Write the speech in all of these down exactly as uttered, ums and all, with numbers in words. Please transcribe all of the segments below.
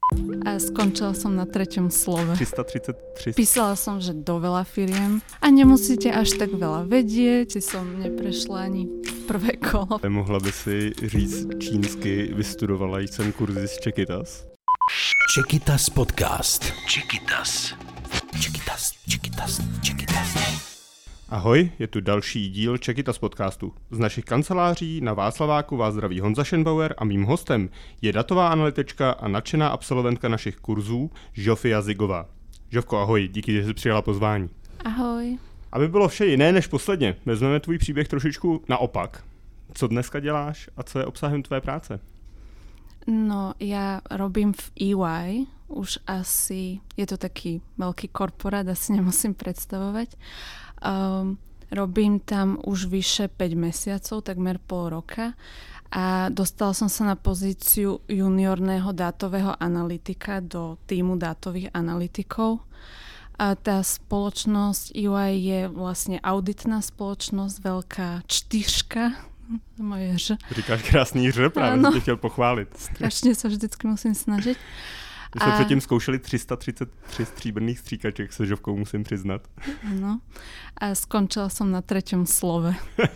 A skončila som na treťom slove. tři sta třicet tři. Písala som, že do veľa firiem a nemusíte až tak veľa vedieť, si som neprešla ani prvé kolo. Mohla by si říct čínsky, vystudovala jsem kurzy z Čekytas. Čekytas podcast. Čekytas. Čekytas, Čekytas, Čekytas. Ahoj, je tu další díl Čekytas podcastu. Z našich kanceláří na Václaváku vás zdraví Honza Schenbauer a mým hostem je datová analytička a nadšená absolventka našich kurzů Žofia Zigová. Žofko, ahoj, díky, že jsi přijala pozvání. Ahoj. Aby bylo vše jiné než posledně, vezmeme tvůj příběh trošičku naopak. Co dneska děláš a co je obsahem tvé práce? No, ja robím v é vaj, už asi, je to taký veľký korporát, asi nemusím predstavovať. Um, robím tam už vyše päť mesiacov, takmer pol roka a dostala som sa na pozíciu juniorného dátového analytika do týmu dátových analytikov. A tá spoločnosť é vaj je vlastne auditná spoločnosť, veľká čtyřka, moje Ž. Říkáš krásný Ž, právě jsem tě chtěl pochválit. Strašně se vždycky musím snažit. My jsme a... předtím zkoušeli tři sta třicet tři stříbrných stříkaček se Žovkou, musím přiznat. No. A skončila som na treťom slove.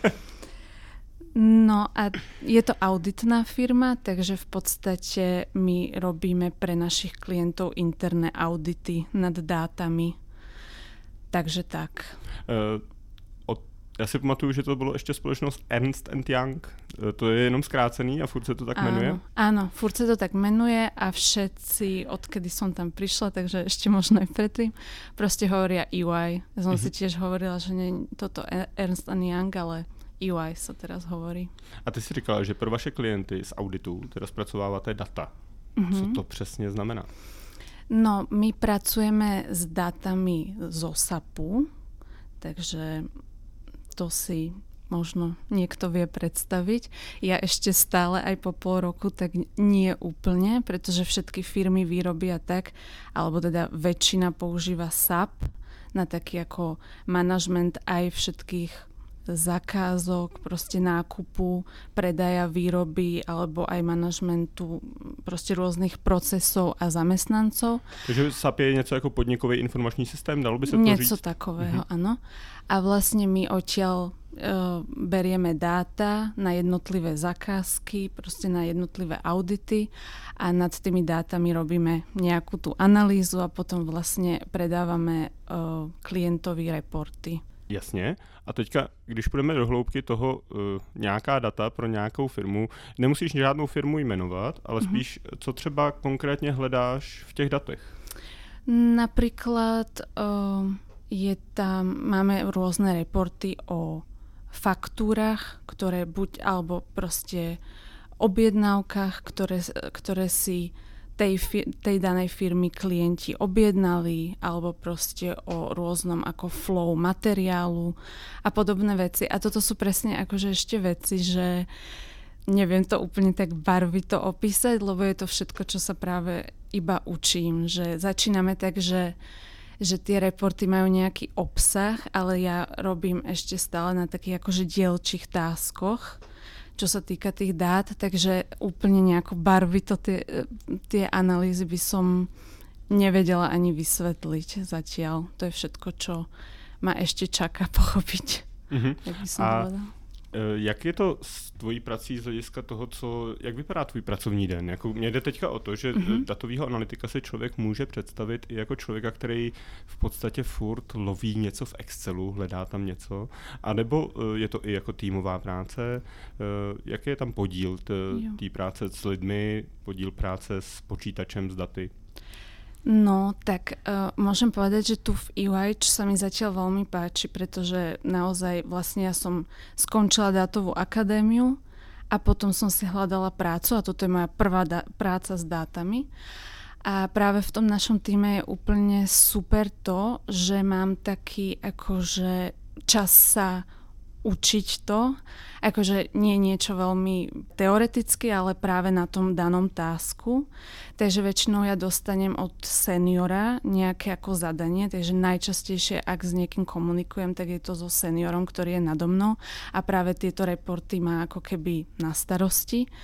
No a je to auditná firma, takže v podstate my robíme pre našich klientov interné audity nad dátami. Takže tak. Uh... Já si pamatuju, že to bylo ještě společnost Ernst and Young. To je jenom zkrácený a furt se to tak áno, jmenuje? Áno, furt sa to tak menuje a všetci, odkedy som tam prišla, takže ešte možno aj predtým, proste hovoria é vaj. Ja som mm-hmm. si tiež hovorila, že nie toto Ernst and Young, ale é vaj sa teraz hovorí. A ty si říkala, že pro vaše klienty z auditu teda spracováváte data. Mm-hmm. Co to přesně znamená? No, my pracujeme s datami zo sapu, takže to si možno niekto vie predstaviť. Ja ešte stále aj po pol roku tak nie úplne, pretože všetky firmy vyrobia tak, alebo teda väčšina používa sap na taký ako manažment aj všetkých zakázok, proste nákupu, predaja výroby alebo aj manažmentu proste rôznych procesov a zamestnancov. Takže sap je něco jako podnikový informační systém, dalo by se to Nieco říct? Něco takového, mhm. Áno. A vlastne my odtiaľ uh, berieme dáta na jednotlivé zakázky, proste na jednotlivé audity a nad tými dátami robíme nejakú tú analýzu a potom vlastne predávame uh, klientovi reporty. Jasně. A teďka, když půjdeme do hloubky toho uh, nějaká data pro nějakou firmu, nemusíš žádnou firmu jmenovat, ale mm-hmm. spíš, co třeba konkrétně hledáš v těch datech? Napríklad uh, je tam, máme rôzne reporty o faktúrach, ktoré buď, alebo proste objednávkach, ktoré, ktoré si tej, tej danej firmy klienti objednali, alebo proste o rôznom ako flow materiálu a podobné veci. A toto sú presne akože ešte veci, že neviem to úplne tak barvito opísať, lebo je to všetko, čo sa práve iba učím. Že začíname tak, že, že tie reporty majú nejaký obsah, ale ja robím ešte stále na takých akože dielčích táskoch, čo sa týka tých dát, takže úplne nejako barvito tie, tie analýzy by som nevedela ani vysvetliť zatiaľ. To je všetko, čo ma ešte čaká pochopiť. Mm-hmm. Jak by som A povedala. Jak je to s tvojí prací z hlediska toho, co, jak vypadá tvůj pracovní den? Jako, mě jde teďka o to, že mm-hmm. datovýho analytika si člověk může představit i jako člověka, který v podstatě furt loví něco v Excelu, hledá tam něco, anebo je to i jako týmová práce. Jaký je tam podíl té práce s lidmi, podíl práce s počítačem, s daty? No, tak uh, môžem povedať, že tu v é vaj sa mi zatiaľ veľmi páči, pretože naozaj vlastne ja som skončila dátovú akadémiu a potom som si hľadala prácu a toto je moja prvá da- práca s dátami. A práve v tom našom týme je úplne super to, že mám taký akože čas sa učiť to, akože nie niečo veľmi teoreticky, ale práve na tom danom tásku. Takže väčšinou ja dostanem od seniora nejaké ako zadanie, takže najčastejšie, ak s niekým komunikujem, tak je to so seniorom, ktorý je nado mnou a práve tieto reporty má ako keby na starosti.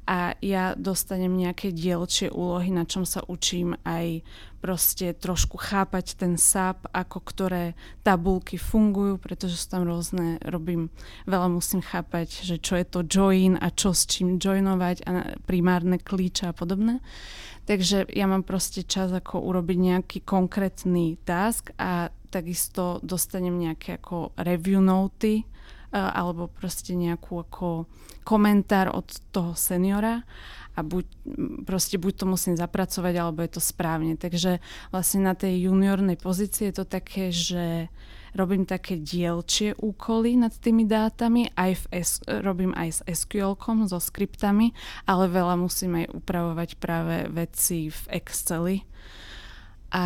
a ja dostanem nejaké dielčie úlohy, na čom sa učím aj proste trošku chápať ten es á pé, ako ktoré tabulky fungujú, pretože sú tam rôzne, robím, veľa musím chápať, že čo je to join a čo s čím joinovať a primárne kľúče a podobné. Takže ja mám proste čas ako urobiť nejaký konkrétny task a takisto dostanem nejaké ako review noty alebo proste nejakú ako komentár od toho seniora a buď, proste buď to musím zapracovať, alebo je to správne. Takže vlastne na tej juniornej pozícii je to také, že robím také dielčie úkoly nad tými dátami, aj v S, robím aj s es kú elkom, so skriptami, ale veľa musím aj upravovať práve veci v Exceli. A,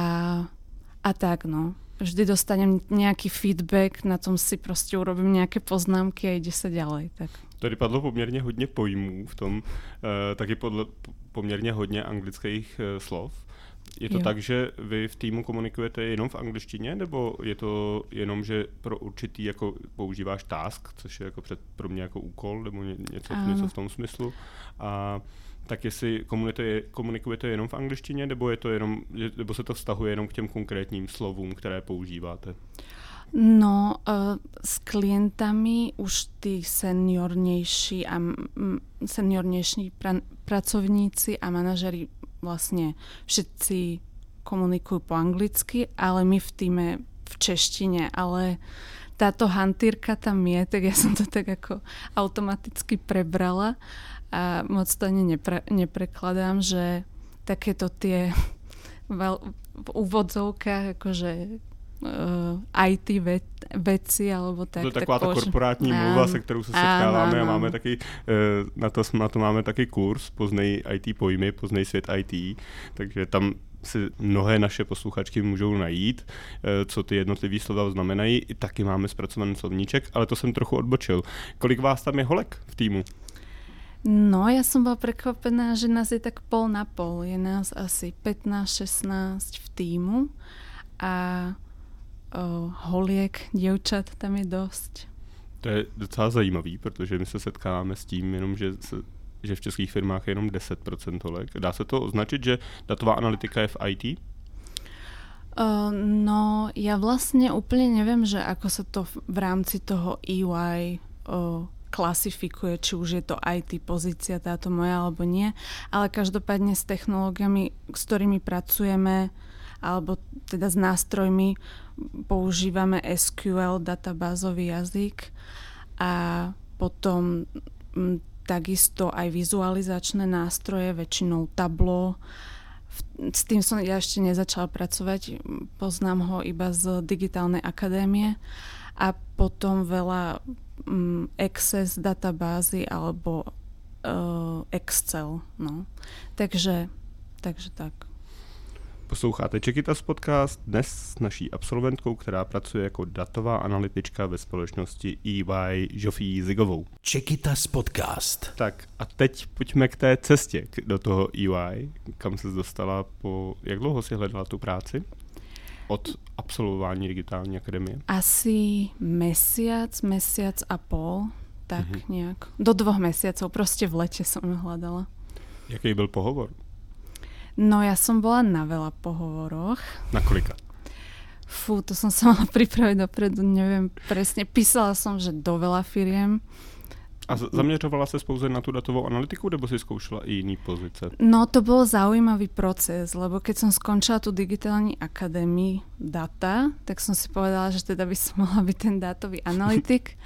a tak, no. Vždy dostanem nejaký feedback, na tom si prostě urobím nějaké poznámky a jde se ďalej. Tak. Tady padlo poměrně hodně pojmů v tom, e, taky podle, poměrně hodně anglických e, slov. Je to jo. Tak, že vy v týmu komunikujete jenom v angličtině, nebo je to jenom, že pro určitý jako používáš task, což je jako před, pro mě jako úkol, nebo ně, něco, něco v tom smyslu. A tak jestli komunikujete, komunikujete jenom v angličtině, nebo, je to jenom, nebo se to vztahuje jenom k těm konkrétním slovům, které používáte? No, uh, s klientami už tí seniornejší a m, seniornejší pra, pracovníci a manažeri vlastne všetci komunikujú po anglicky, ale my v týme v češtine, ale táto hantýrka tam je, tak ja som to tak ako automaticky prebrala a moc to ani nepre, neprekladám, že takéto tie veľ, v úvodzovkách akože uh, í té ve, veci alebo tak. To je taková tak ta korporátní mluva, se kterou se setkáváme, áno, a máme taky, uh, na, to, na to máme taky kurz Poznej í té pojmy, Poznej svět í té, takže tam si mnohé naše posluchačky můžou najít, co ty jednotlivý slova znamenají. I taky máme zpracovaný slovníček, ale to jsem trochu odbočil. Kolik vás tam je holek v týmu? No, ja som bola prekvapená, že nás je tak pol na pol. Je nás asi pätnásť šestnásť v týmu a o, holiek, dievčat tam je dosť. To je docela zajímavý, protože my se setkáváme s tím jenom, že se že v českých firmách je jenom deset procent holek. Dá se to označit, že datová analytika je v í té? Uh, no, ja vlastne úplne neviem, že ako sa to v rámci toho é ypsilon uh, klasifikuje, či už je to í té pozícia táto moja alebo nie, ale každopádne s technológiami, s ktorými pracujeme, alebo teda s nástrojmi používame es kú el, databázový jazyk, a potom m, takisto aj vizualizačné nástroje, väčšinou Tableau. S tým som ja ešte nezačala pracovať, poznám ho iba z digitálnej akadémie, a potom veľa um, Access databázy alebo uh, Excel. No. Takže, takže tak. Posloucháte Čekytas podcast dnes s naší absolventkou, která pracuje jako datová analytička ve společnosti é vaj Žofí Zigovou. Čekytas podcast. Tak a teď pojďme k té cestě do toho é vaj, kam se dostala po... Jak dlouho si hledala tu práci? Od absolvování digitální akademie? Asi mesiac, mesiac a pol, tak mm-hmm. nejak. Do dvoch mesiacov, proste v lete som ju hľadala. Jaký byl pohovor? No, ja som bola na veľa pohovoroch. Na kolika? Fú, to som sa mala pripraviť dopredu, neviem presne. Písala som, že do veľa firiem. A zaměřovala se pouze na tu datovou analytiku, nebo si zkoušela i jiný pozice? No, to bol zaujímavý proces, lebo keď som skončila tú digitální akadémii data, tak som si povedala, že teda by som mohla byť ten dátový analytik.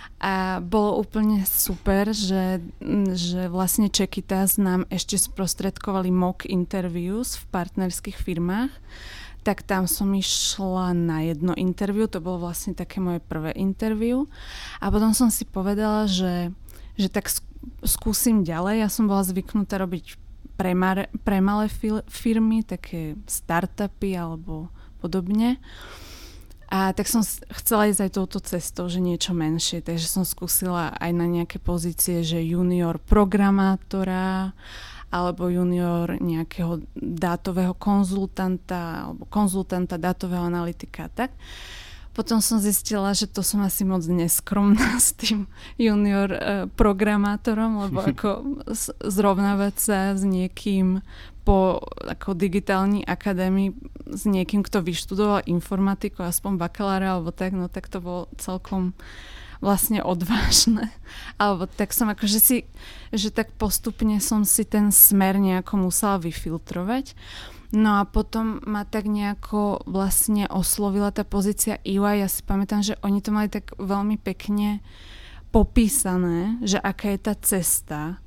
A bolo úplne super, že, že vlastne Čekytas nám ešte sprostredkovali mock interviews v partnerských firmách. Tak tam som išla na jedno interview, to bolo vlastne také moje prvé interview. A potom som si povedala, že, že tak skúsim ďalej. Ja som bola zvyknutá robiť pre, mar, pre malé firmy, také startupy alebo podobne. A tak som chcela ísť aj touto cestou, že niečo menšie, takže som skúsila aj na nejaké pozície, že junior programátora alebo junior nejakého dátového konzultanta alebo konzultanta dátového analytika. Tak Potom som zistila, že to som asi moc neskromná s tým junior uh, programátorom, lebo ako zrovnávať sa s niekým po ako digitálnej akadémii, s niekým, kto vyštudoval informatiku, aspoň bakalára alebo tak, no tak to bolo celkom vlastne odvážne. Alebo tak som akože si, že tak postupne som si ten smer nejako musela vyfiltrovať. No a potom ma tak nejako vlastne oslovila tá pozícia í vaj. Ja si pamätám, že oni to mali tak veľmi pekne popísané, že aká je tá cesta,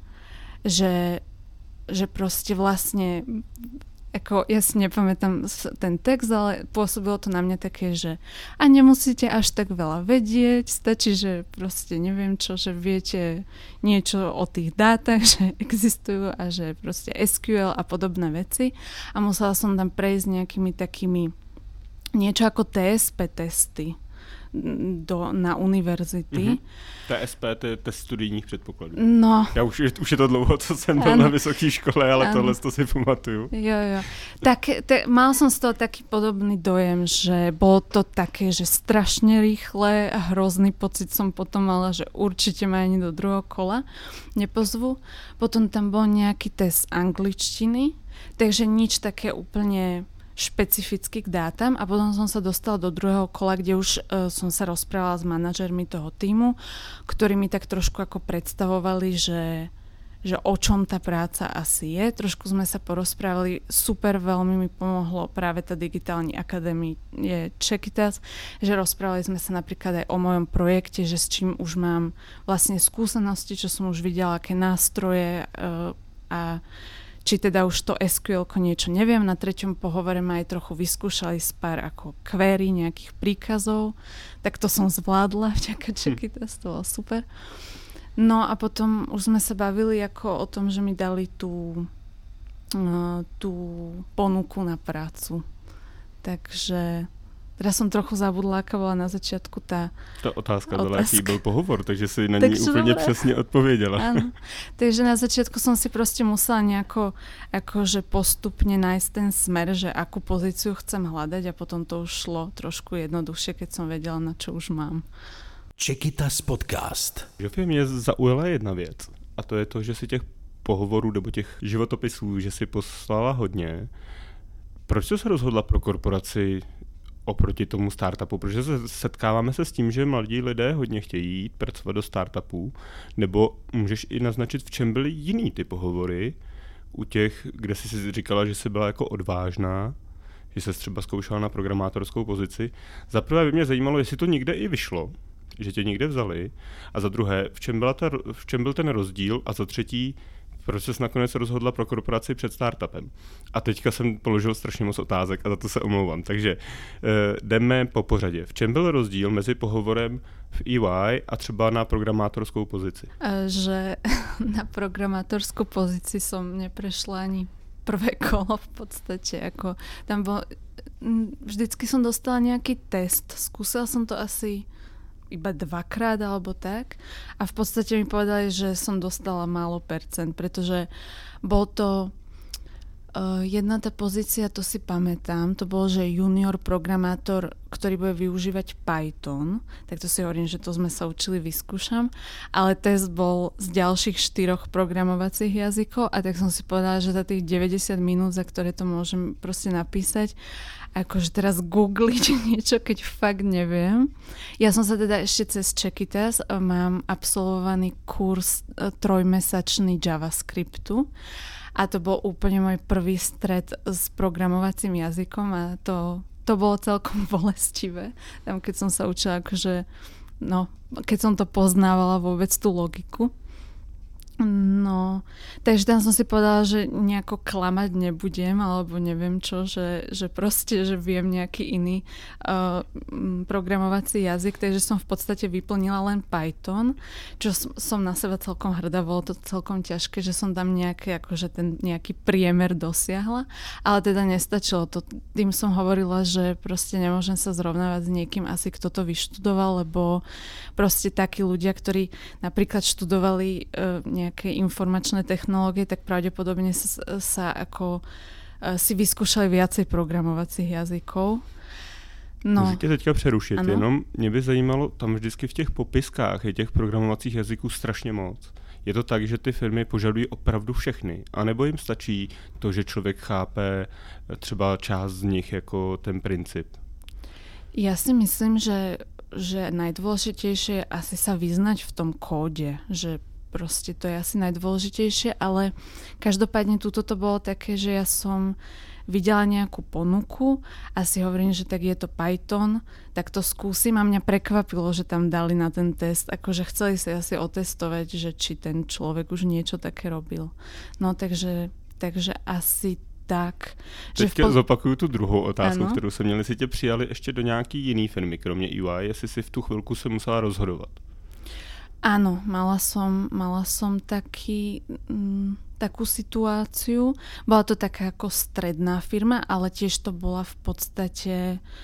že že proste vlastne, ako ja si nepamätám ten text, ale pôsobilo to na mňa také, že a nemusíte až tak veľa vedieť, stačí, že proste neviem čo, že viete niečo o tých dátach, že existujú a že proste es kú el a podobné veci. A musela som tam prejsť nejakými takými niečo ako té es pé testy do, na univerzity. Mm-hmm. té es pé, to je test studijních předpokladů. No. Já už, už je to dlouho, co jsem byl ano. na vysoké škole, ale ano. tohle to si pamatuju. Jo, jo. Tak, te, mal som z toho taký podobný dojem, že bolo to také, že strašne rýchle a hrozný pocit som potom mala, že určite ma ani do druhého kola nepozvu. Potom tam bol nejaký test angličtiny, takže nič také úplne špecificky k dátam a potom som sa dostala do druhého kola, kde už uh, som sa rozprávala s manažermi toho tímu, ktorí mi tak trošku ako predstavovali, že, že o čom tá práca asi je. Trošku sme sa porozprávali, super, veľmi mi pomohlo práve tá digitálna akadémia Čekytas, že rozprávali sme sa napríklad aj o mojom projekte, že s čím už mám vlastne skúsenosti, čo som už videla, aké nástroje uh, a či teda už to es kú elko niečo neviem. Na treťom pohovore ma aj trochu vyskúšali z pár ako query, nejakých príkazov, tak to som zvládla vďaka Čekytas, to bolo super. No a potom už sme sa bavili ako o tom, že mi dali tú, uh, tú ponuku na prácu. Takže teraz som trochu zabudla, aká bola na začiatku tá Ta otázka, otázka. Jaký byl pohovor, takže si na ní úplně přesně odpověděla. Áno. Takže na začiatku som si proste musela nejako akože postupne nájsť ten smer, že akú pozíciu chcem hľadať a potom to už šlo trošku jednoduchšie, keď som vedela, na čo už mám. Čekytas podcast. Žofie, mě zaujala jedna věc a to je to, že si těch pohovorů nebo těch životopisů, že si poslala hodně. Proč jsi se rozhodla pro korporaci oproti tomu startupu, protože se setkáváme se s tím, že mladí lidé hodně chtějí jít pracovat do startupů, nebo můžeš i naznačit, v čem byly jiný ty pohovory u těch, kde jsi si říkala, že jsi byla jako odvážná, že jsi třeba zkoušela na programátorskou pozici. Za prvé by mě zajímalo, jestli to někde i vyšlo, že tě někde vzali, a za druhé, v čem, byla ta, v čem byl ten rozdíl, a za třetí, proč ses nakonec rozhodla pro korporaci před startupem. A teďka jsem položil strašně moc otázek a za to se omlouvám. Takže uh, jdeme po pořadě. V čem byl rozdíl mezi pohovorem v í vaj a třeba na programátorskou pozici? Že na programátorskou pozici som neprešla ani prvé kolo v podstate. Ako, tam bol, vždycky som dostala nejaký test. Skúsila som to asi iba dvakrát alebo tak a v podstate mi povedali, že som dostala málo percent, pretože bol to uh, jedna tá pozícia, to si pamätám, to bol, že junior programátor, ktorý bude využívať Python, tak to si hovorím, že to sme sa učili, vyskúšam, ale test bol z ďalších štyroch programovacích jazykov a tak som si povedala, že za tých deväťdesiat minút, za ktoré to môžem proste napísať, akože teraz googliť niečo, keď fakt neviem. Ja som sa teda ešte cez Čekytas mám absolvovaný kurz trojmesačný JavaScriptu a to bol úplne môj prvý stret s programovacím jazykom a to, to bolo celkom bolestivé. Tam keď som sa učila, akože, no, keď som to poznávala vôbec tú logiku. No, takže tam som si povedala, že nejako klamať nebudem, alebo neviem čo, že, že proste, že viem nejaký iný uh, programovací jazyk, takže som v podstate vyplnila len Python, čo som na seba celkom hrdá, bolo to celkom ťažké, že som tam nejaký, akože ten nejaký priemer dosiahla, ale teda nestačilo to. Tým som hovorila, že proste nemôžem sa zrovnávať s niekým asi, kto to vyštudoval, lebo proste takí ľudia, ktorí napríklad študovali uh, nejaké nejaké informačné technológie, tak pravdepodobne sa, sa ako uh, si vyskúšali viacej programovacích jazykov. No. Můžu tě teďka přerušit, ano? Jenom mě by zajímalo, tam vždycky v těch popiskách je těch programovacích jazyků strašně moc. Je to tak, že ty firmy požadují opravdu všechny, anebo jim stačí to, že člověk chápe třeba část z nich jako ten princip? Ja si myslím, že, že najdôležitejšie je asi sa vyznať v tom kóde, že proste to je asi najdôležitejšie, ale každopádne túto to bolo také, že ja som videla nejakú ponuku a si hovorím, že tak je to Python, tak to skúsim a mňa prekvapilo, že tam dali na ten test, akože chceli si asi otestovať, že či ten človek už niečo také robil. No takže, takže asi tak. Teďka poz... zopakuju tu druhou otázku, ano? Kterou jsem měl, jestli tě přijali ještě do nějaký jiný firmy, kromě E Y, jestli si v tu chvilku se musela rozhodovat. Áno, mala som, mala som taký, m, takú situáciu. Bola to taká ako stredná firma, ale tiež to bola v podstate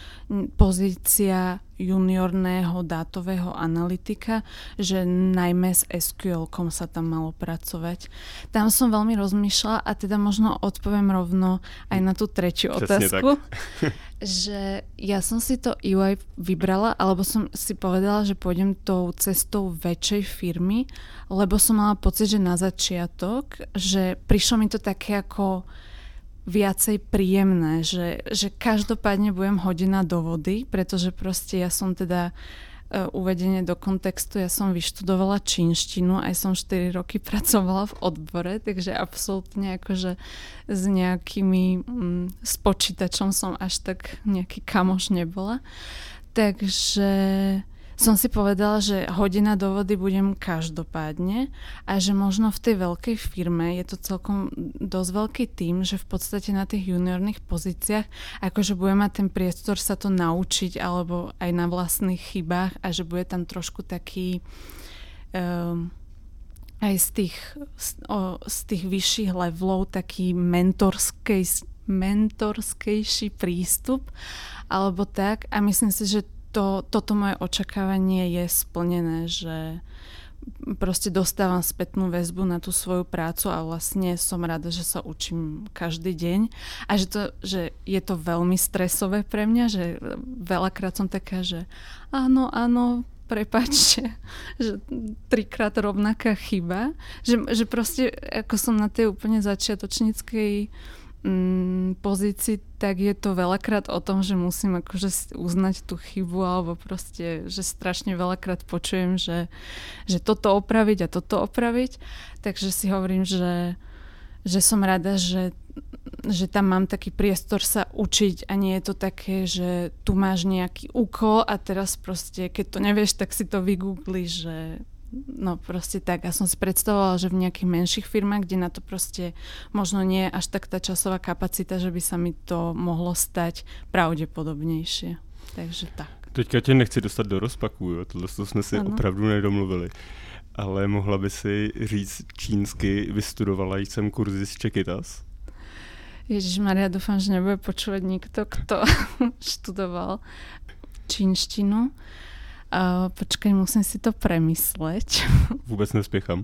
pozícia juniorného dátového analytika, že najmä s es kú elkom sa tam malo pracovať. Tam som veľmi rozmýšľala a teda možno odpoviem rovno aj na tú tretiu Přesne otázku. Tak. Že ja som si to E Y vybrala, alebo som si povedala, že pôjdem tou cestou väčšej firmy, lebo som mala pocit, že na začiatok, že prišlo mi to také ako viacej príjemné, že, že každopádne budem hodená do vody, pretože proste ja som teda uh, uvedenie do kontextu, ja som vyštudovala čínštinu, aj som štyri roky pracovala v odbore, takže absolútne akože s nejakými, um, s počítačom som až tak nejaký kamoš nebola. Takže som si povedala, že hodina do vody budem každopádne a že možno v tej veľkej firme je to celkom dosť veľký tím, že v podstate na tých juniorných pozíciách akože bude mať ten priestor sa to naučiť alebo aj na vlastných chybách a že bude tam trošku taký um, aj z tých, z, o, z tých vyšších levelov taký mentorskej, mentorskejší prístup alebo tak a myslím si, že To, toto moje očakávanie je splnené, že proste dostávam spätnú väzbu na tú svoju prácu a vlastne som rada, že sa učím každý deň a že, to, že je to veľmi stresové pre mňa, že veľakrát som taká, že áno, áno, prepáčte, že trikrát rovnaká chyba, že, že proste ako som na tej úplne začiatočníckej pozícii, tak je to veľakrát o tom, že musím akože uznať tú chybu alebo proste, že strašne veľakrát počujem, že, že toto opraviť a toto opraviť. Takže si hovorím, že, že som rada, že, že tam mám taký priestor sa učiť a nie je to také, že tu máš nejaký úkol a teraz proste, keď to nevieš, tak si to vygoogliš, že no proste tak. Ja som si predstavovala, že v nejakých menších firmách, kde na to proste možno nie je až tak tá časová kapacita, že by sa mi to mohlo stať pravdepodobnejšie. Takže tak. Teďka tě nechci dostat do rozpaků, jo? Tohle jsme si ano. opravdu nedomluvili. Ale mohla by si říct čínsky, vystudovala jsem kurzy z Čekytas? Ježišmaria, dúfam, že nebude počúvať nikto, kto študoval čínštinu. Uh, počkej, musím si to premysleť. Vůbec nespěchám.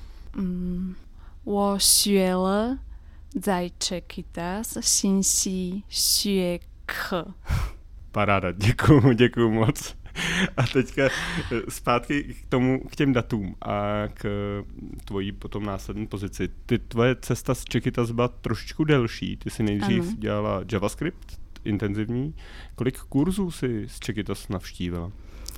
Mm, 我学了在 Čekytas 信息学科. Paráda, děkuju, děkuju moc. A teďka zpátky k tomu, k těm datům a k tvojí potom následné pozici. Ty tvoje cesta z Čekytas byla trošičku delší. Ty si nejdřív ano. dělala JavaScript intenzivní. Kolik kurzů si z Čekytas navštívila?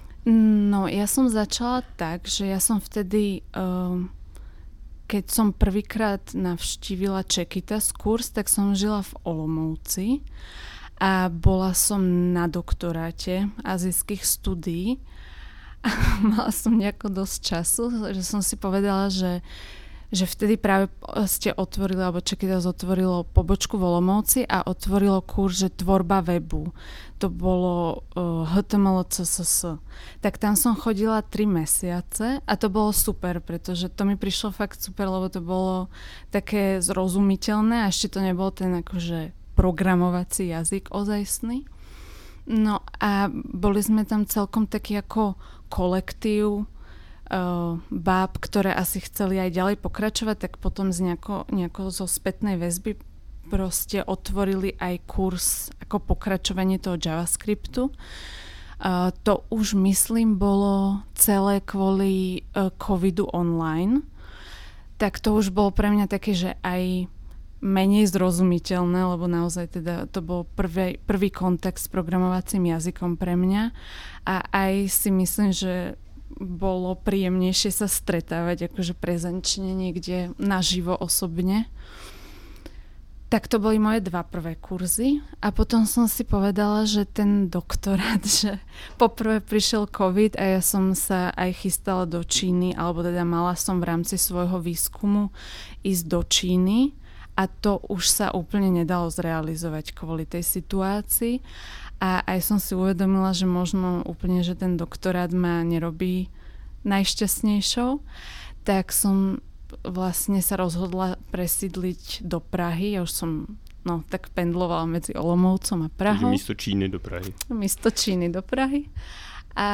No, ja som začala tak, že ja som vtedy, uh, keď som prvýkrát navštívila Čekytas kurz, tak som žila v Olomouci a bola som na doktoráte azijských studií a mala som nejako dosť času, že som si povedala, že že vtedy práve ste otvorili, alebo Čekytas otvorilo pobočku v Olomouci a otvorilo kurz, že tvorba webu. To bolo uh, há té em el, cé es es. Tak tam som chodila tri mesiace a to bolo super, pretože to mi prišlo fakt super, lebo to bolo také zrozumiteľné a ešte to nebol ten akože programovací jazyk ozajstný. No a boli sme tam celkom taký ako kolektív Uh, báb, ktoré asi chceli aj ďalej pokračovať, tak potom z nejako, nejako zo spätnej väzby proste otvorili aj kurz ako pokračovanie toho JavaScriptu. Uh, to už myslím bolo celé kvôli uh, covidu online. Tak to už bolo pre mňa také, že aj menej zrozumiteľné, lebo naozaj teda to bol prvý, prvý kontakt s programovacím jazykom pre mňa. A aj si myslím, že bolo príjemnejšie sa stretávať akože prezenčne niekde naživo osobne. Tak to boli moje dva prvé kurzy a potom som si povedala, že ten doktorát, že poprvé prišiel COVID a ja som sa aj chystala do Číny, alebo teda mala som v rámci svojho výskumu ísť do Číny a to už sa úplne nedalo zrealizovať kvôli tej situácii a aj som si uvedomila, že možno úplne, že ten doktorát ma nerobí najšťastnejšou, tak som vlastne sa rozhodla presídliť do Prahy. Ja už som no, tak pendlovala medzi Olomoucom a Prahou. Takže místo Číny do Prahy. Místo Číny do Prahy. A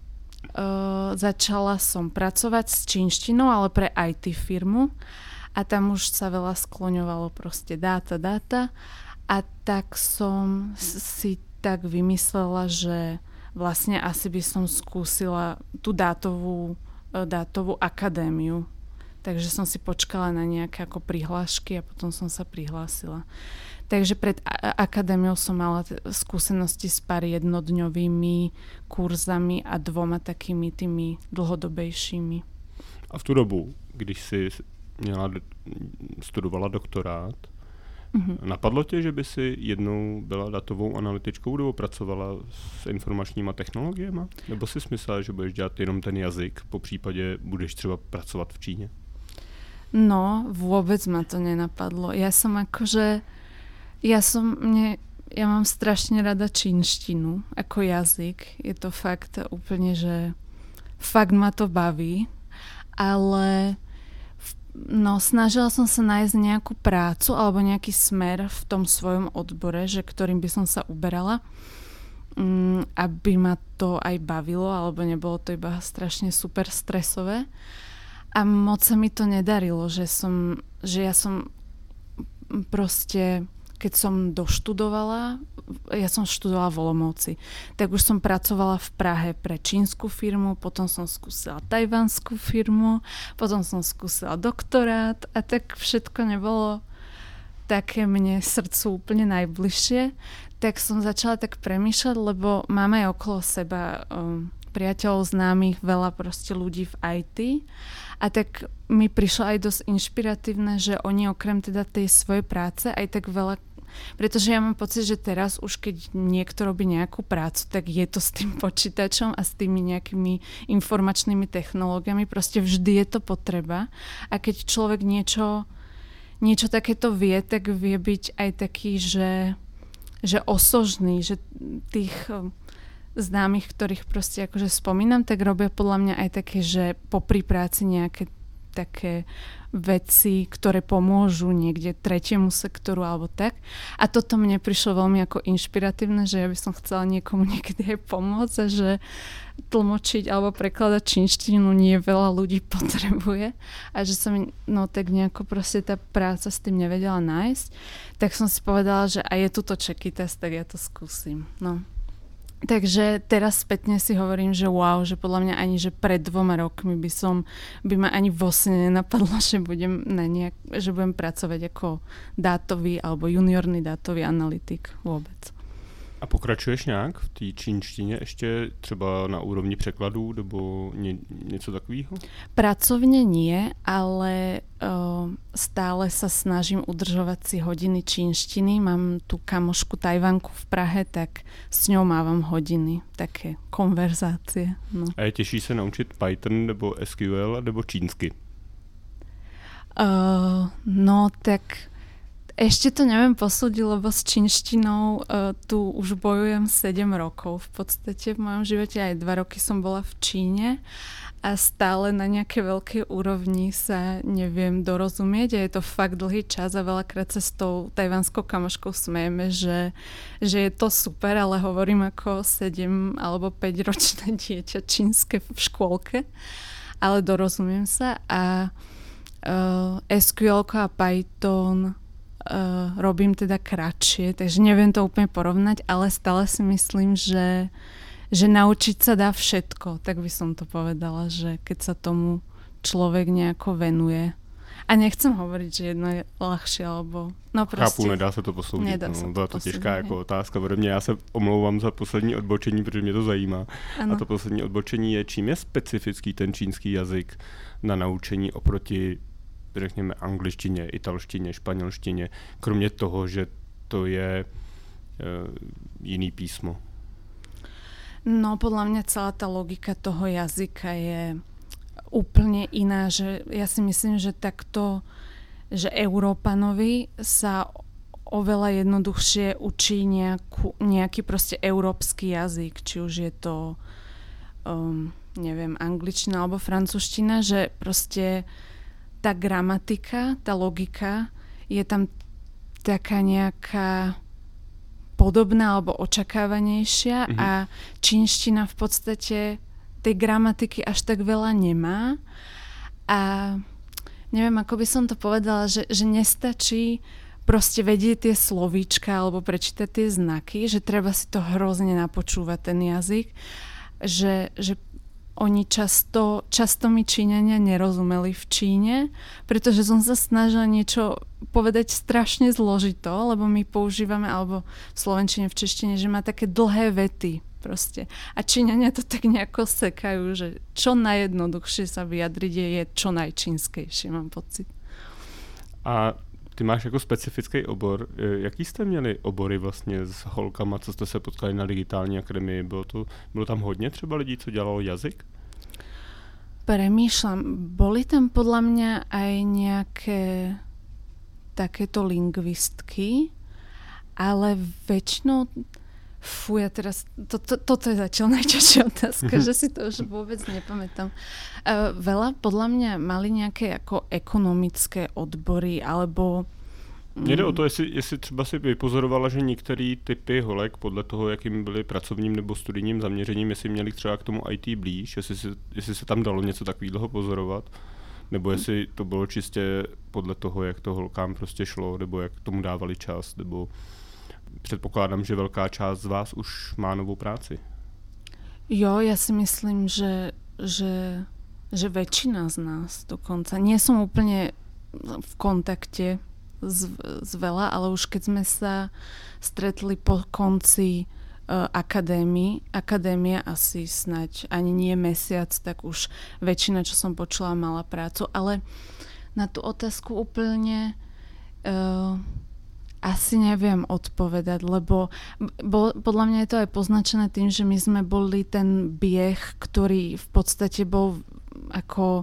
uh, začala som pracovať s čínštinou, ale pre í té firmu. A tam už sa veľa skloňovalo proste dáta, dáta. A tak som si tak vymyslela, že vlastne asi by som skúsila tú dátovú, dátovú akadémiu. Takže som si počkala na nejaké ako prihlášky a potom som sa prihlásila. Takže pred a- akadémiou som mala t- skúsenosti s pár jednodňovými kurzami a dvoma takými tými dlhodobejšími. A v tu dobu, když si měla, studovala doktorát, mm-hmm. napadlo tě, že by si jednou byla datovou analytičkou nebo pracovala s informačníma technologiemi? Nebo si myslela, že budeš dělat jenom ten jazyk, po případě budeš třeba pracovat v Číně? No, vôbec ma to nenapadlo. Ja som akože, ja som, mne, ja mám strašne rada čínštinu ako jazyk. Je to fakt úplne, že fakt ma to baví, ale no, snažila som sa nájsť nejakú prácu alebo nejaký smer v tom svojom odbore, že ktorým by som sa uberala, um, aby ma to aj bavilo, alebo nebolo to iba strašne super stresové. A moc sa mi to nedarilo, že som, že ja som proste, keď som doštudovala, ja som študovala v Olomouci, tak už som pracovala v Prahe pre čínsku firmu, potom som skúsila tajvanskú firmu, potom som skúsila doktorát a tak všetko nebolo také mne srdcu úplne najbližšie. Tak som začala tak premýšľať, lebo máme aj okolo seba um, priateľov, známych, veľa proste ľudí v í té. A tak mi prišlo aj dosť inšpiratívne, že oni okrem teda tej svojej práce aj tak veľa, pretože ja mám pocit, že teraz už keď niekto robí nejakú prácu, tak je to s tým počítačom a s tými nejakými informačnými technológiami. Proste vždy je to potreba. A keď človek niečo, niečo takéto vie, tak vie byť aj taký, že, že osožný, že tých známych, ktorých proste akože spomínam, tak robia podľa mňa aj také, že popri práci nejaké také veci, ktoré pomôžu niekde tretiemu sektoru alebo tak. A toto mne prišlo veľmi ako inšpiratívne, že ja by som chcela niekomu niekedy aj pomôcť a že tlmočiť alebo prekladať čínštinu nie veľa ľudí potrebuje a že sa mi no tak nejako proste tá práca s tým nevedela nájsť. Tak som si povedala, že aj je tuto Čekytas, tak ja to skúsim. No. Takže teraz spätne si hovorím, že wow, že podľa mňa ani, že pred dvoma rokmi by som, by ma ani vlastne nenapadlo, že budem, na nejak, že budem pracovať ako dátový alebo juniorný dátový analytik vôbec. A pokračuješ nějak v té čínštině ještě třeba na úrovni překladů nebo ně, něco takového? Pracovne nie, ale uh, stále sa snažím udržovať si hodiny čínštiny. Mám tu kamošku Tajvanku v Prahe, tak s ňou mávam hodiny, také konverzácie. No. A je těžší se naučit Python nebo es kú el nebo čínsky? Uh, no tak ešte to neviem posúdiť, lebo s čínštinou uh, tu už bojujem sedem rokov v podstate v mojom živote. Aj dva roky som bola v Číne a stále na nejakej veľkej úrovni sa neviem dorozumieť a je to fakt dlhý čas a veľakrát sa s tou tajvanskou kamoškou smejeme, že, že je to super, ale hovorím ako sedem alebo päť ročné dieťa čínske v škôlke, ale dorozumiem sa a uh, es kú el a Python uh, robím teda kratšie, takže neviem to úplne porovnať, ale stále si myslím, že, že naučiť sa dá všetko, tak by som to povedala, že keď sa tomu človek nejako venuje. A nechcem hovoriť, že jedno je ľahšie, alebo... No prostě... Chápu, nedá se to posoudit. Nedá no, se to byla to posoudit, těžká jako otázka ode mě. Já se omlouvám za poslední odbočení, protože mě to zajímá. Ano. A to poslední odbočení je, čím je specifický ten čínský jazyk na naučení oproti, řekněme, angličtině, italštině, španělštině, kromě toho, že to je uh, jiný písmo. No, podľa mňa celá tá logika toho jazyka je úplne iná, že ja si myslím, že takto, že Európanovi sa oveľa jednoduchšie učí nejakú, nejaký proste európsky jazyk, či už je to um, neviem, angličtina alebo francúzština, že proste tá gramatika, tá logika je tam taká nejaká podobná alebo očakávanejšia, mm-hmm. a čínština v podstate tej gramatiky až tak veľa nemá a neviem, ako by som to povedala, že, že nestačí proste vedieť tie slovíčka alebo prečítať tie znaky, že treba si to hrozne napočúvať ten jazyk, že, že oni často, často mi Číňania nerozumeli v Číne, pretože som sa snažila niečo povedať strašne zložito, lebo my používame, alebo v slovenčine, v češtine, že má také dlhé vety proste. A Číňania to tak nejako sekajú, že čo najjednoduchšie sa vyjadriť je, je čo najčínskejšie, mám pocit. A ty máš jako specifický obor. Jaký jste měli obory vlastně s holkama, co jste se potkali na digitální akademii? Bylo, to, bylo tam hodně třeba lidí, co dělalo jazyk? Premýšľam. Boli tam podľa mňa aj nejaké takéto lingvistky, ale väčšinou fú, ja teraz, to, to, toto je zatiaľ najčastšia otázka, že si to už vôbec nepamätám. Uh, veľa podľa mňa mali nejaké ako ekonomické odbory, alebo... Mně jde o to, jestli, jestli třeba si vypozorovala, že některé typy holek, podle toho, jakým byly pracovním nebo studijním zaměřením, jestli měli třeba k tomu í té blíž, jestli se, jestli se tam dalo něco takového pozorovat, nebo jestli to bylo čistě podle toho, jak to holkám prostě šlo, nebo jak tomu dávali čas, nebo... Předpokládám, že velká část z vás už má novou práci. Jo, ja si myslím, že, že, že väčšina z nás dokonca. Nie som úplne v kontakte s, s veľa, ale už keď sme sa stretli po konci uh, akadémie, akadémia asi snať ani nie mesiac, tak už väčšina, čo som počula, mala prácu. Ale na tú otázku úplne... Uh, Asi neviem odpovedať, lebo bol, podľa mňa je to aj poznačené tým, že my sme boli ten bieh, ktorý v podstate bol ako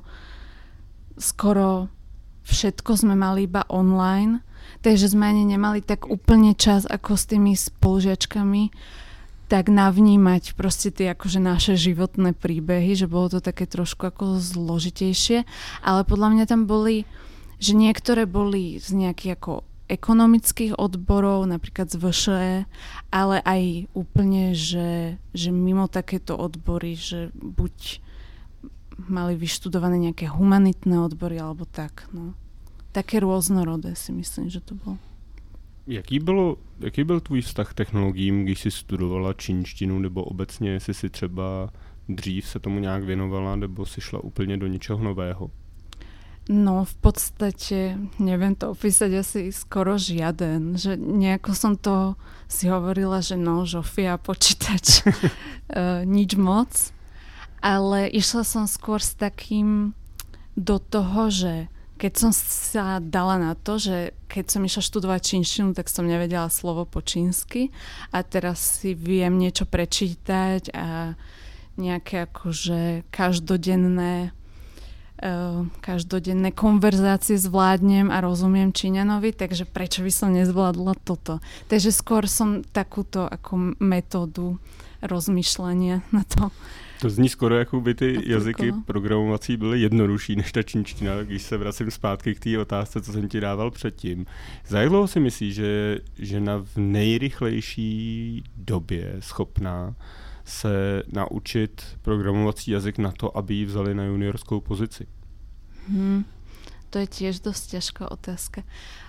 skoro všetko sme mali iba online, takže sme ani nemali tak úplne čas ako s tými spolužiačkami tak navnímať proste tie akože naše životné príbehy, že bolo to také trošku ako zložitejšie, ale podľa mňa tam boli, že niektoré boli z nejakých ako ekonomických odborov, napríklad z vé š é, ale aj úplne, že, že mimo takéto odbory, že buď mali vyštudované nejaké humanitné odbory, alebo tak, no. Také rôznorodé si myslím, že to bolo. Jaký, bylo, jaký byl tvůj vztah k technologiím, když jsi studovala čínštinu, nebo obecně, jestli si třeba dřív se tomu nějak věnovala, nebo si šla úplně do něčeho nového? No v podstate, neviem to opísať asi skoro žiaden, že nejako som to si hovorila, že no, žofia, počítač, uh, nič moc, ale išla som skôr s takým do toho, že keď som sa dala na to, že keď som išla študovať čínštinu, tak som nevedela slovo po čínsky a teraz si viem niečo prečítať a nejaké akože každodenné Uh, každodenné konverzácie zvládnem a rozumiem Číňanovi, takže prečo by som nezvládla toto? Takže skôr som takúto ako metódu rozmýšľania na to. To zní skoro, jako by ty aplikovala. Jazyky programovací byly jednodušší než ta čínština, když se vracím zpátky k té otázce, co jsem ti dával předtím. Za jak dlouho si myslíš, že žena v nejrychlejší době schopná se naučit programovací jazyk na to, aby ji vzali na juniorskou pozici? Hmm, to je tiež dosť ťažká otázka.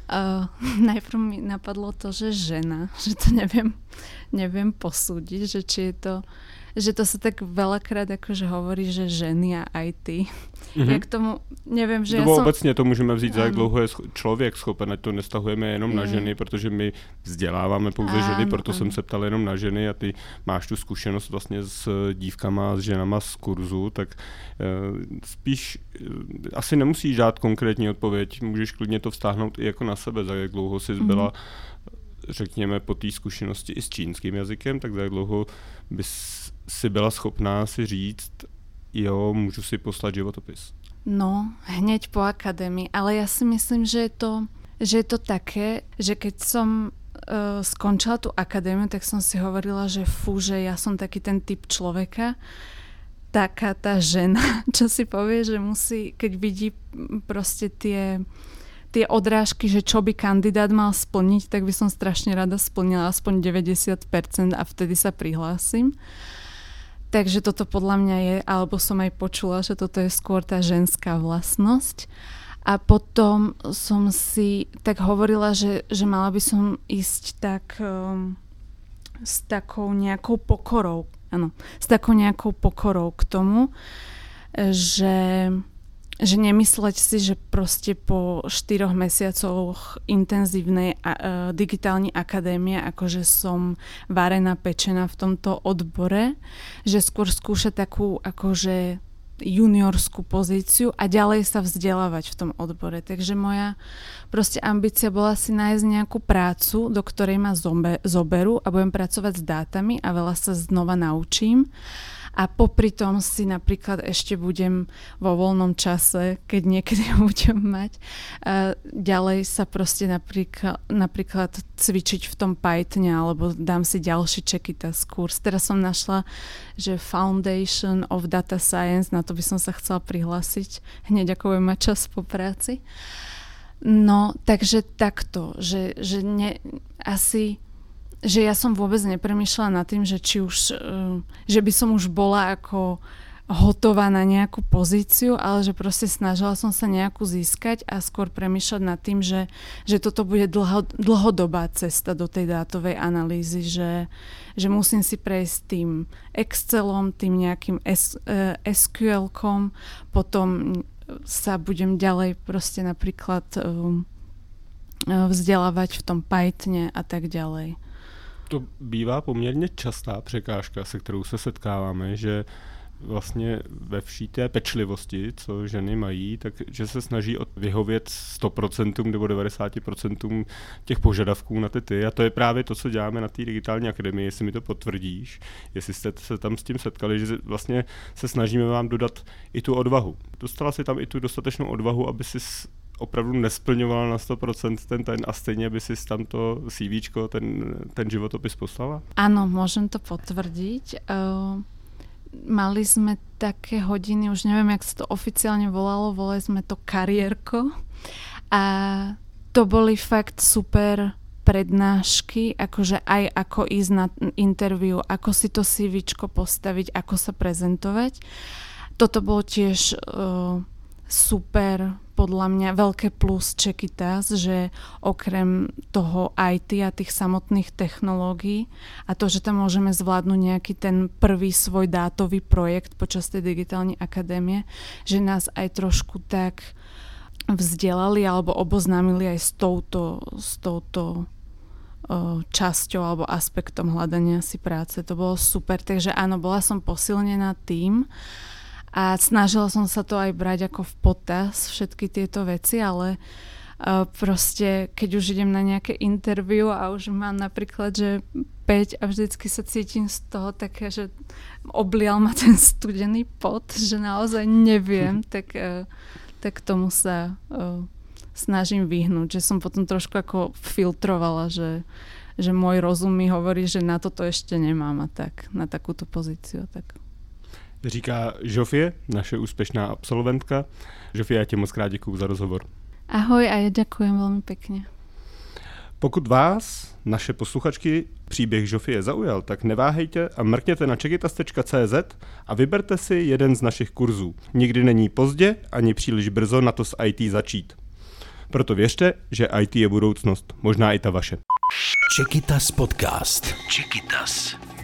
Uh, najprv mi napadlo to, že žena, že to neviem, neviem posúdiť, že či je to, že to sa tak veľakrát akože hovorí, že ženy a í té. Mm-hmm. Ja k tomu neviem, že Nebo ja som... obecně to můžeme vzít, za jak dlouho je člověk schopen, ať to nestahujeme jenom je. na ženy, protože my vzděláváme pouze áno, ženy, proto áno. jsem se ptal jenom na ženy a ty máš tu zkušenost vlastně s dívkama, s ženama z kurzu, tak uh, spíš uh, asi nemusíš dát konkrétní odpověď, můžeš klidně to vztáhnout i jako na sebe, za jak dlouho jsi byla, mm-hmm. řekněme, po té zkušenosti i s čínským jazykem, tak za jak dlouho bys si byla schopná si říct, jo, môžu si poslať životopis. No, hneď po akadémii, ale ja si myslím, že je to, že je to také, že keď som uh, skončila tú akadémiu, tak som si hovorila, že fú, že ja som taký ten typ človeka, taká tá žena, čo si povie, že musí, keď vidí proste tie, tie odrážky, že čo by kandidát mal splniť, tak by som strašne rada splnila aspoň deväťdesiat percent a vtedy sa prihlásim. Takže toto podľa mňa je, alebo som aj počula, že toto je skôr tá ženská vlastnosť. A potom som si tak hovorila, že, že mala by som ísť tak um, s takou nejakou pokorou, áno, s takou nejakou pokorou k tomu, že, že nemysleť si, že proste po štyroch mesiacoch intenzívnej a, uh, digitálnej akadémie, akože som varená, pečená v tomto odbore, že skôr skúšať takú akože juniorskú pozíciu a ďalej sa vzdelávať v tom odbore. Takže moja proste ambícia bola si nájsť nejakú prácu, do ktorej ma zobe, zoberú a budem pracovať s dátami a veľa sa znova naučím. A popri tom si napríklad ešte budem vo voľnom čase, keď niekedy budem mať, uh, ďalej sa proste napríklad, napríklad cvičiť v tom Pythone, alebo dám si ďalší Čekytas kurz. Teraz som našla, že Foundation of Data Science, na to by som sa chcela prihlásiť, hneď ako budem mať čas po práci. No, takže takto, že, že ne, asi... že ja som vôbec nepremýšľala nad tým, že či už, že by som už bola ako hotová na nejakú pozíciu, ale že proste snažila som sa nejakú získať a skôr premýšľať nad tým, že, že toto bude dlho, dlhodobá cesta do tej dátovej analýzy, že, že musím si prejsť tým Excelom, tým nejakým es, es kú elkom, potom sa budem ďalej proste napríklad vzdelávať v tom Pythone a tak ďalej. To bývá poměrně častá překážka, se kterou se setkáváme, že vlastně ve vší té pečlivosti, co ženy mají, takže se snaží vyhovět sto procent nebo devadesát procent těch požadavků na ty ty. A to je právě to, co děláme na té digitální akademii, jestli mi to potvrdíš, jestli jste se tam s tím setkali, že vlastně se snažíme vám dodat i tu odvahu. Dostala si tam i tu dostatečnou odvahu, aby si opravdu nesplňovala na sto procent ten, ten a stejně by si tam to CVčko, ten, ten životopis poslala? Áno, môžem to potvrdiť. Uh, mali sme také hodiny, už neviem, jak sa to oficiálne volalo, volali sme to kariérko a to boli fakt super prednášky, akože aj ako ísť na interview, ako si to CVčko postaviť, ako sa prezentovať. Toto bolo tiež uh, super, podľa mňa veľké plus Čekytas, že okrem toho í té a tých samotných technológií a to, že tam môžeme zvládnuť nejaký ten prvý svoj dátový projekt počas tej digitálnej akadémie, že nás aj trošku tak vzdelali alebo oboznámili aj s touto, s touto uh, časťou alebo aspektom hľadania si práce. To bolo super, takže áno, bola som posilnená tým. A snažila som sa to aj brať ako v potaz, všetky tieto veci, ale uh, proste, keď už idem na nejaké interview a už mám napríklad, že päť a vždycky sa cítim z toho také, že oblial ma ten studený pot, že naozaj neviem, tak, uh, tak tomu sa uh, snažím vyhnúť, že som potom trošku ako filtrovala, že, že môj rozum mi hovorí, že na toto ešte nemám a tak, na takúto pozíciu. Tak. Říká Žofie, naše úspešná absolventka. Žofie, já ti moc krát děkuju za rozhovor. Ahoj a ja ďakujem veľmi pekne. Pokud vás, naše posluchačky, příběh Žofie zaujal, tak neváhejte a mrkněte na čekytas tečka cé zet a vyberte si jeden z našich kurzů. Nikdy není pozdě ani příliš brzo na to s í té začít. Proto věřte, že í té je budoucnost. Možná i ta vaše. Čekytas podcast. Čekytas.